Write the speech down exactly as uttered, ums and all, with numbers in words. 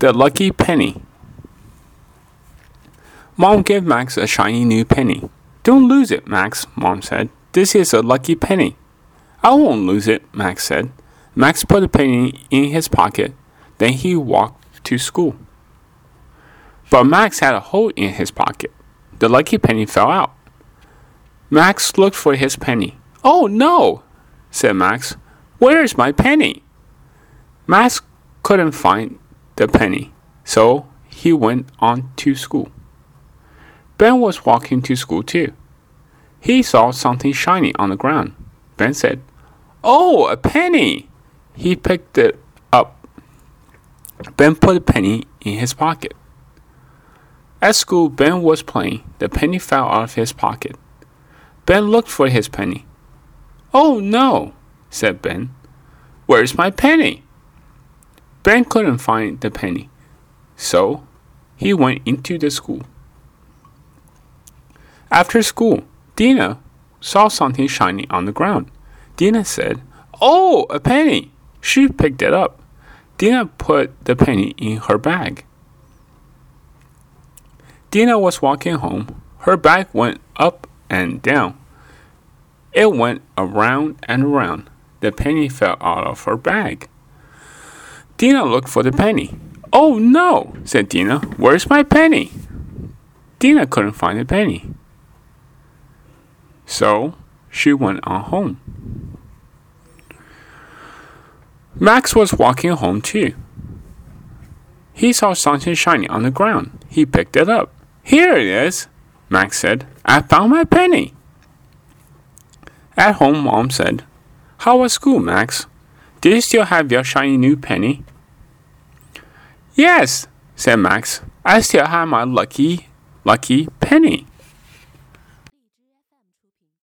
The lucky penny. Mom gave Max a shiny new penny. Don't lose it, Max, Mom said. This is a lucky penny. I won't lose it, Max said. Max put the penny in his pocket. Then he walked to school. But Max had a hole in his pocket. The lucky penny fell out. Max looked for his penny. Oh no, said Max. Where is my penny? Max couldn't find the penny, so he went on to school. Ben was walking to school too. He saw something shiny on the ground. Ben said, Oh, a penny! He picked it up. Ben put the penny in his pocket. At school, Ben was playing. The penny fell out of his pocket. Ben looked for his penny. Oh no, said Ben. Where's my penny? Ben couldn't find the penny, so he went into the school. After school, Dina saw something shiny on the ground. Dina said, Oh, a penny! She picked it up. Dina put the penny in her bag. Dina was walking home. Her bag went up and down. It went around and around. The penny fell out of her bag. Dina looked for the penny. Oh no, said Dina. Where's my penny? Dina couldn't find the penny. So she went on home. Max was walking home too. He saw something shiny on the ground. He picked it up. Here it is, Max said. I found my penny. At home, Mom said, How was school, Max? Do you still have your shiny new penny? Yes, said Max. I still have my lucky, lucky penny.